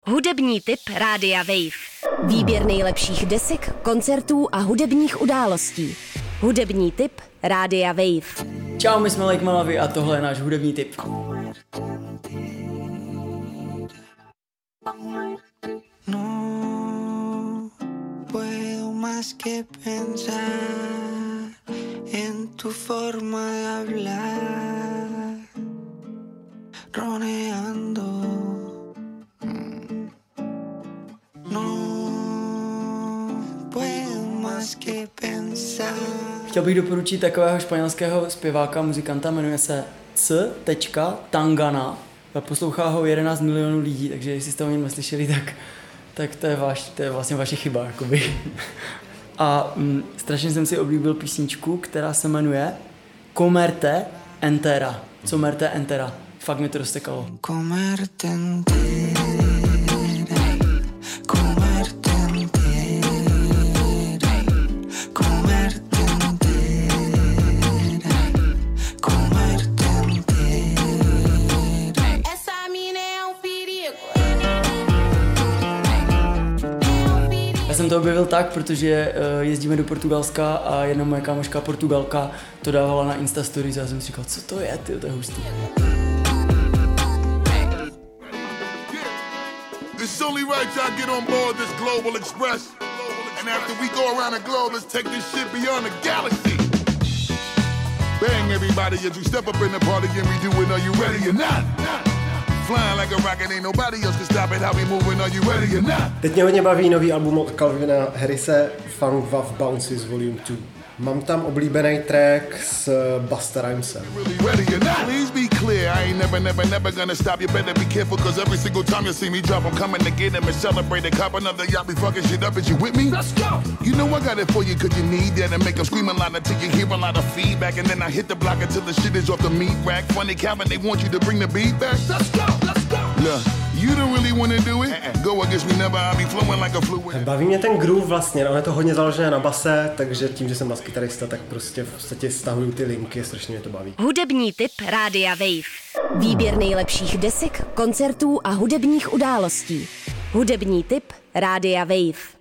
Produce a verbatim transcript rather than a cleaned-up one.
Hudební tip Rádia Wave. Výběr nejlepších desek, koncertů a hudebních událostí. Hudební tip Rádia Wave. Čau, my jsme Lake Malawi a tohle je náš hudební tip. No puedo más que pensar en tu forma de hablar, roneando. No puedo más que pensar. Chtěl bych doporučit takového španělského zpěváka, muzikanta, jmenuje se C. Tangana. Poslouchá ho jedenáct milionů lidí, takže jestli jste o něm neslyšeli, tak, tak to, je vaš, to je vlastně vaše chyba. Jakoby. A mm, strašně jsem si oblíbil písničku, která se jmenuje Comerte entera. Comerte entera. Fakt mi to roztekalo. Comerte entera, comerte entera, comerte entera, comerte entera. Essa mina é um perigo. Já jsem to objevil tak, protože uh, jezdíme do Portugalska a jedna moje kámoška Portugalka to dávala na Insta Stories a já jsem si říkal, co to je, ty, to je hustý. It's only right y'all get on board this Global Express. And after we go around the globe, let's take this shit beyond the galaxy. Bang everybody as you step up in the party and we do it, are you ready or not? Flying like a rocket, ain't nobody else can stop it, how we moving, are you ready or not? Teď mě hodně baví nový album od Calvina Harrise, Funk Wav Bounces Volume two. Mám tam oblíbený track s Busta Rhymesem. Please be clear, I ain't never, never, never gonna stop. You better be careful, cause every single time you see me drop, I'm coming to get him and celebrate a cop another y'all be fucking shit up. Is you with me? Let's go! You know I got it for you, cause you need that and make them scream a lot until you hear a lot of feedback. And then I hit the block until the shit is off the meat rack. Funny Calvin, they want you to bring the beat back. Let's go! Let's go! Look, you don't really wanna do it? Go against me never, I'll be flowing like a fluid. Baví mě ten groove vlastně, no, je to hodně založené na base, takže tím, že jsem baskytarista, tak prostě v podstatě stahuju ty linky, strašně mě to baví. Hudební tip Rádia Wave. Výběr nejlepších desek, koncertů a hudebních událostí. Hudební tip Rádia Wave.